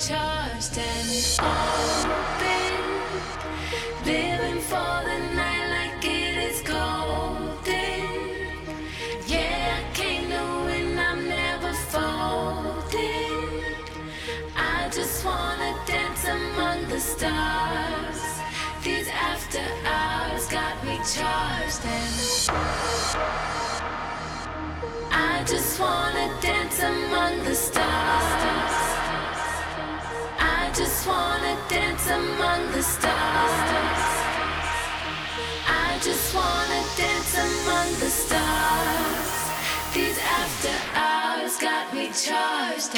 charged and open. Living for the night like it is golden. Yeah, I came to win, I'm never folding. I just wanna dance among the stars. These after hours got me charged and I just wanna dance among the stars. I just wanna dance among the stars. I just wanna dance among the stars. These after hours got me charged.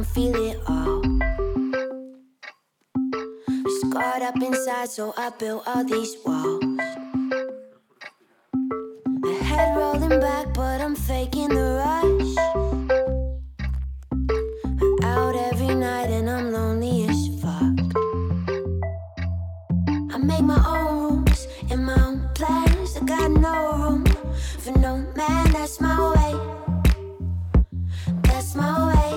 don't feel it all. Scarred up inside, so I built all these walls. My head rolling back, but I'm faking the rush. I'm out every night and I'm lonely as fuck. I make my own rules and my own plans. I got no room for no man, that's my way. That's my way.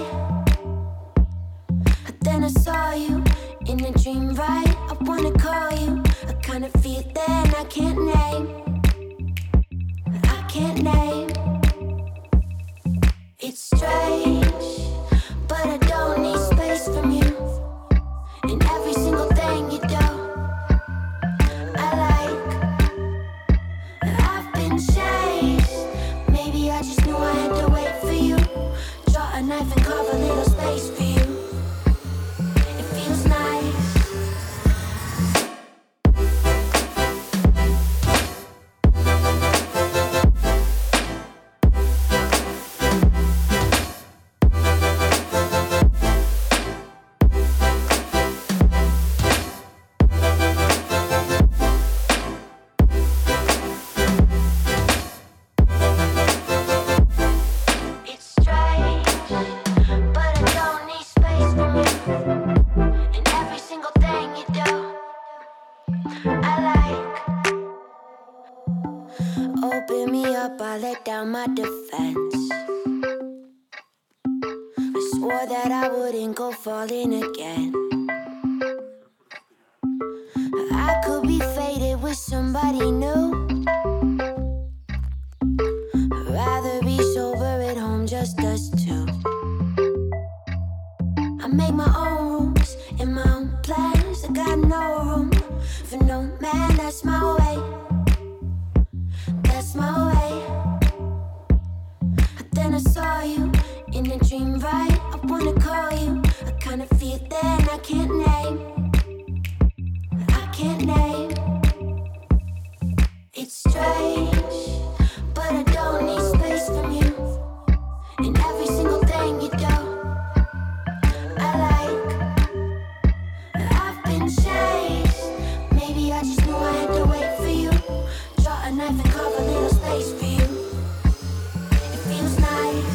Then I saw you in a dream, right? I wanna call you. I kinda feel that I can't name. I can't name. It's strange, but I don't need space from you. And every single thing you do, I like. I've been chased. Maybe I just knew I had to wait for you. Draw a knife and carve a little space for you. It feels nice. It's strange, but I don't need space from you. And every single thing you do, I like. Open me up, I let down my defense. I swore that I wouldn't go falling again. I could be faded with somebody new. I'd rather be sober at home, just us two. I make my own rules and my own plans. I got no room for no man, that's my way. That's my way. Then I saw you in a dream, right? I wanna call you. I kinda feel that I can't name. I can't name. It's strange, but I don't need space from you. And every single thing you do, I like. I've been chased. Maybe I just knew I had to wait for you. Draw a knife and carve a little space for you. It feels nice.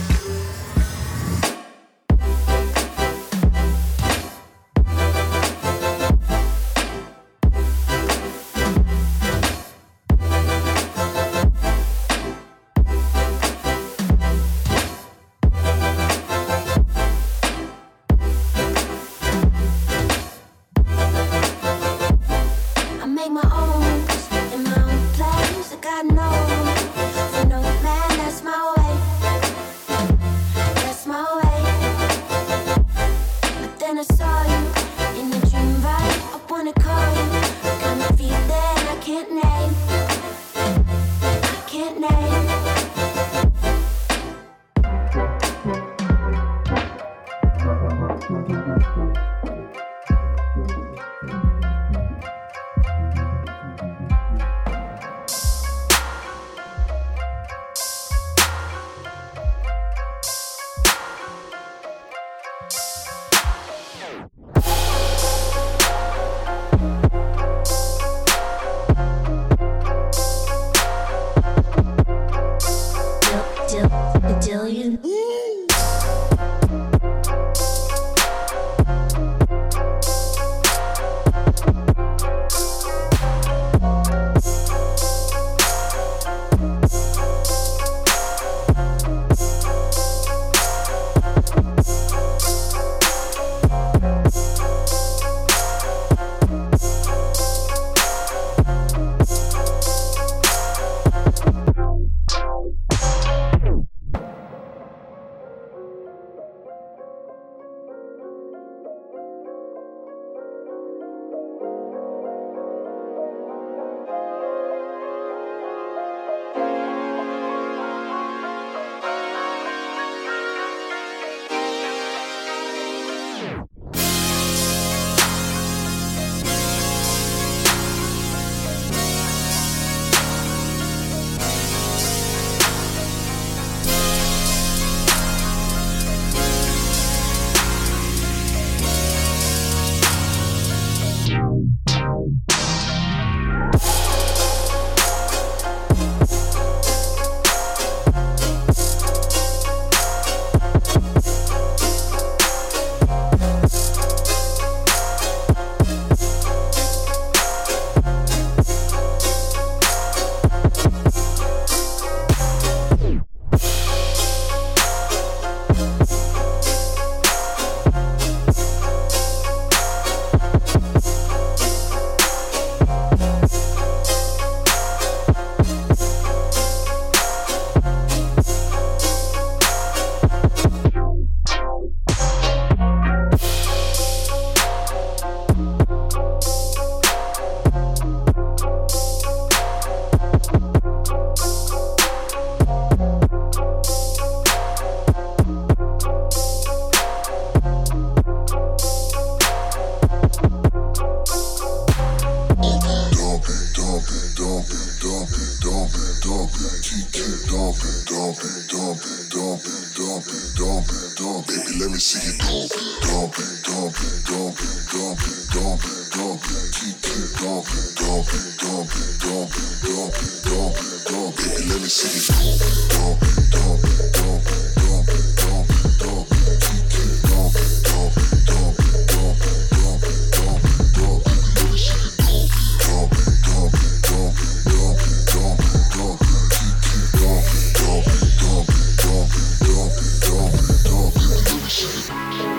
Baby, let me see you dump it, dump it, dump it, dump it, dump it, dump it, dump it, keep dump it, dump it, dump it, dump it, dump it, dump it, dump it. Baby, let me see you dump it, dump it, dump it, dump it, dump it, dump it, dump it, keep dump it, dump it, dump it, dump it, dump it, dump it, dump it. Let me see you dump it, dump it, dump it, dump it, dump it, dump it, dump it, keep dump it, dump it, dump it, dump it, dump it, dump it, dump it. Let me see it.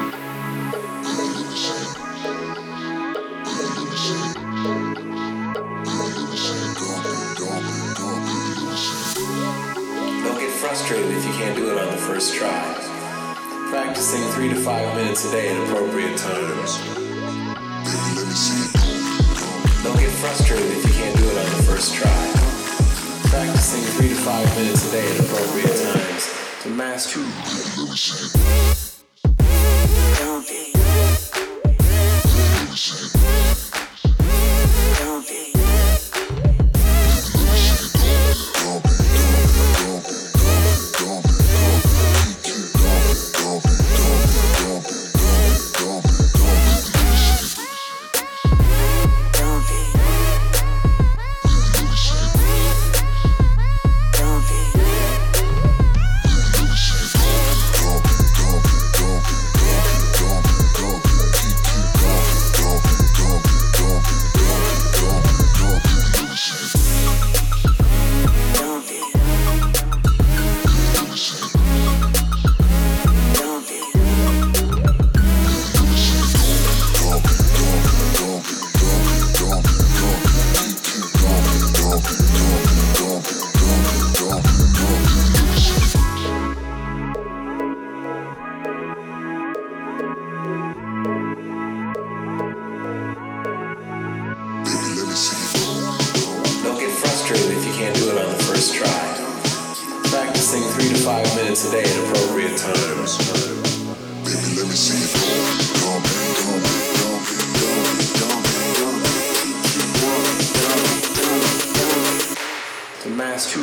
Don't get frustrated if you can't do it on the first try. Practicing 3 to 5 minutes a day at appropriate times. Don't get frustrated if you can't do it on the first try. Practicing 3 to 5 minutes a day at appropriate times to master. If you can't do it on the first try. Practicing 3 to 5 minutes a day at appropriate times. Baby, let me see you dump it, dump it, dump it, dump it, dump it, dump it. To master.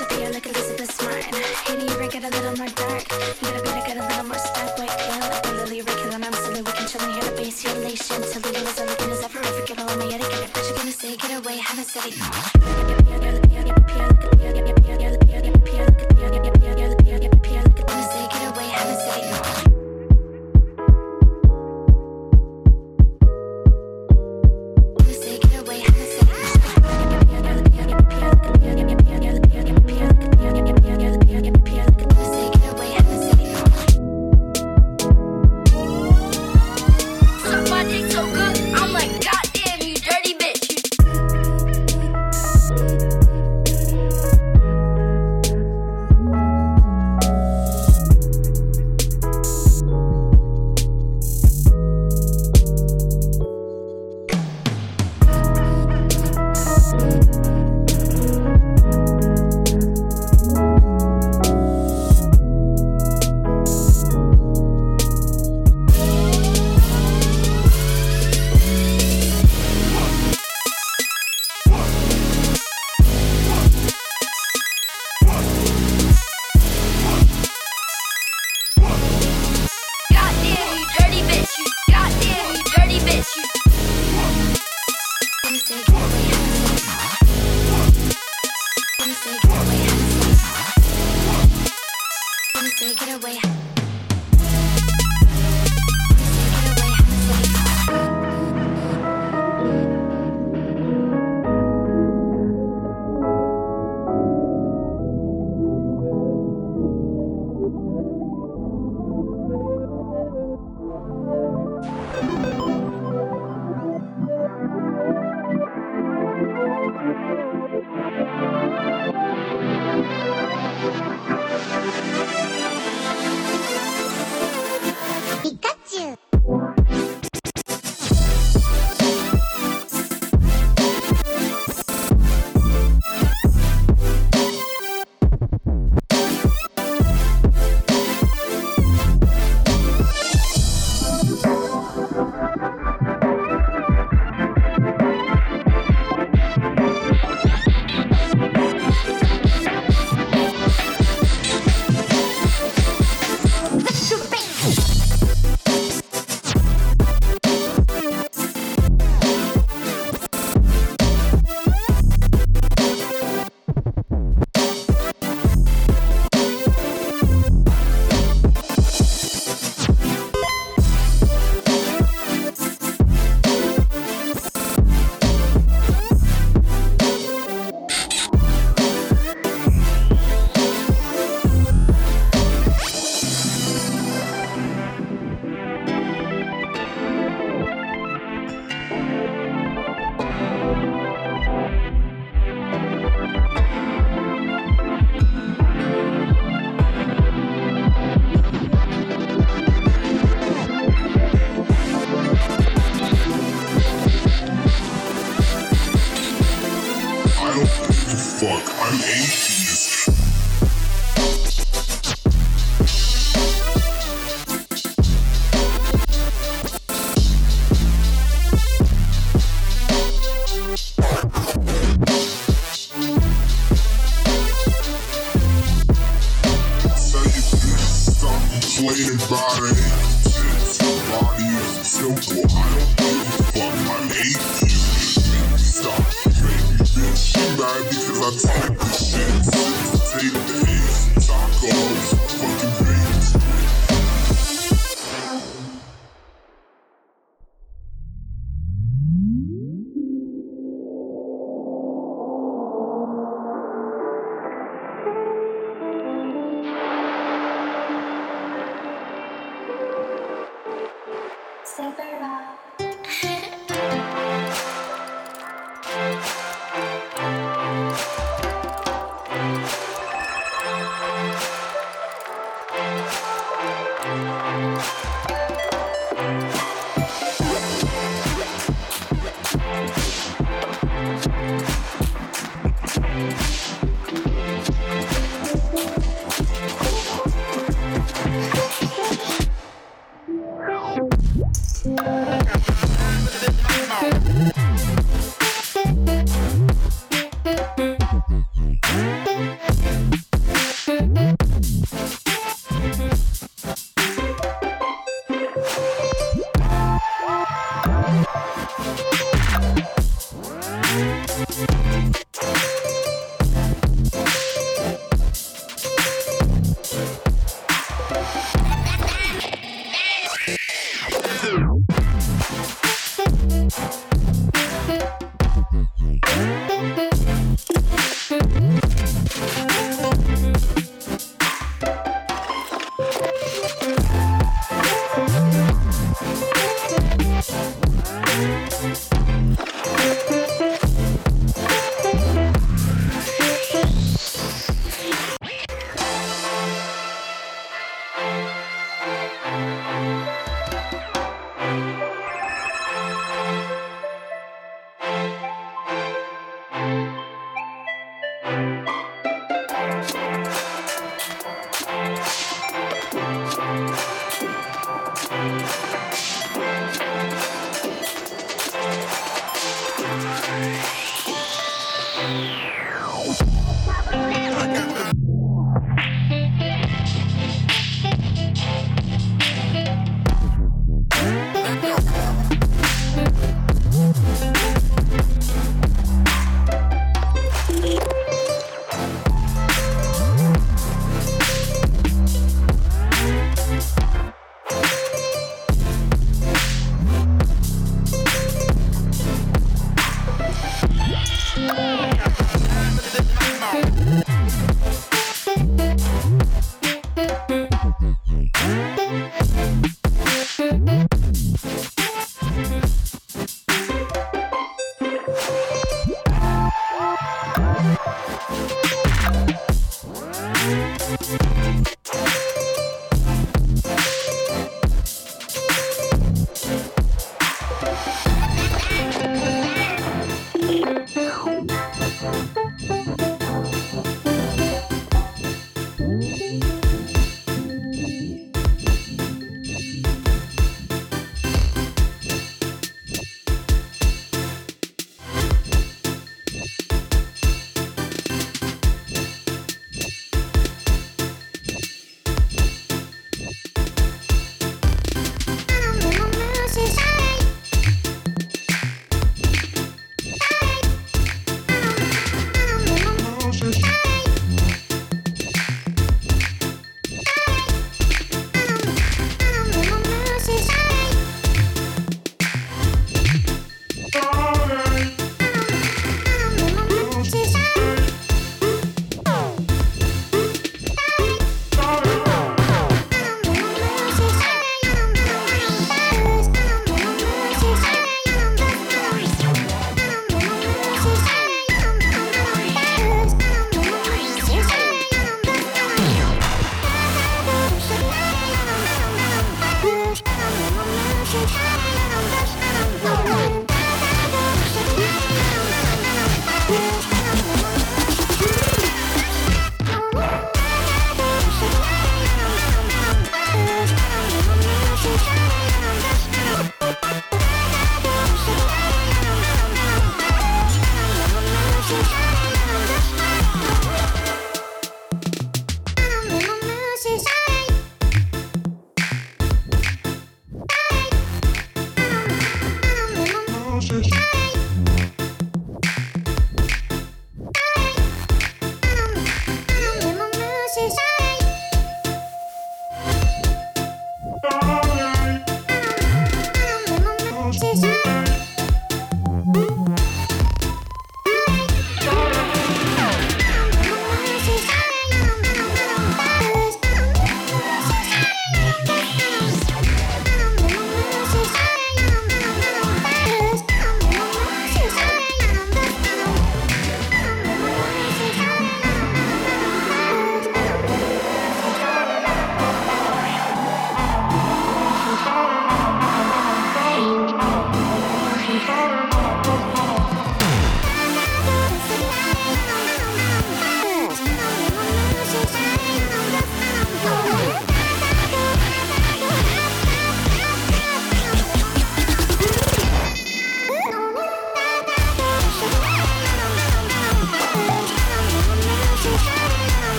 disappear like Elizabeth Martin. Hating you break it a little more dark. You gotta beat it, get a little more stark. White pale like the lily Rick, and I'm silly. We can chill and hear the bass, hear elation. Till the was everything is ever. Forget all my etiquette. What you gonna say? Get away, haven't said it.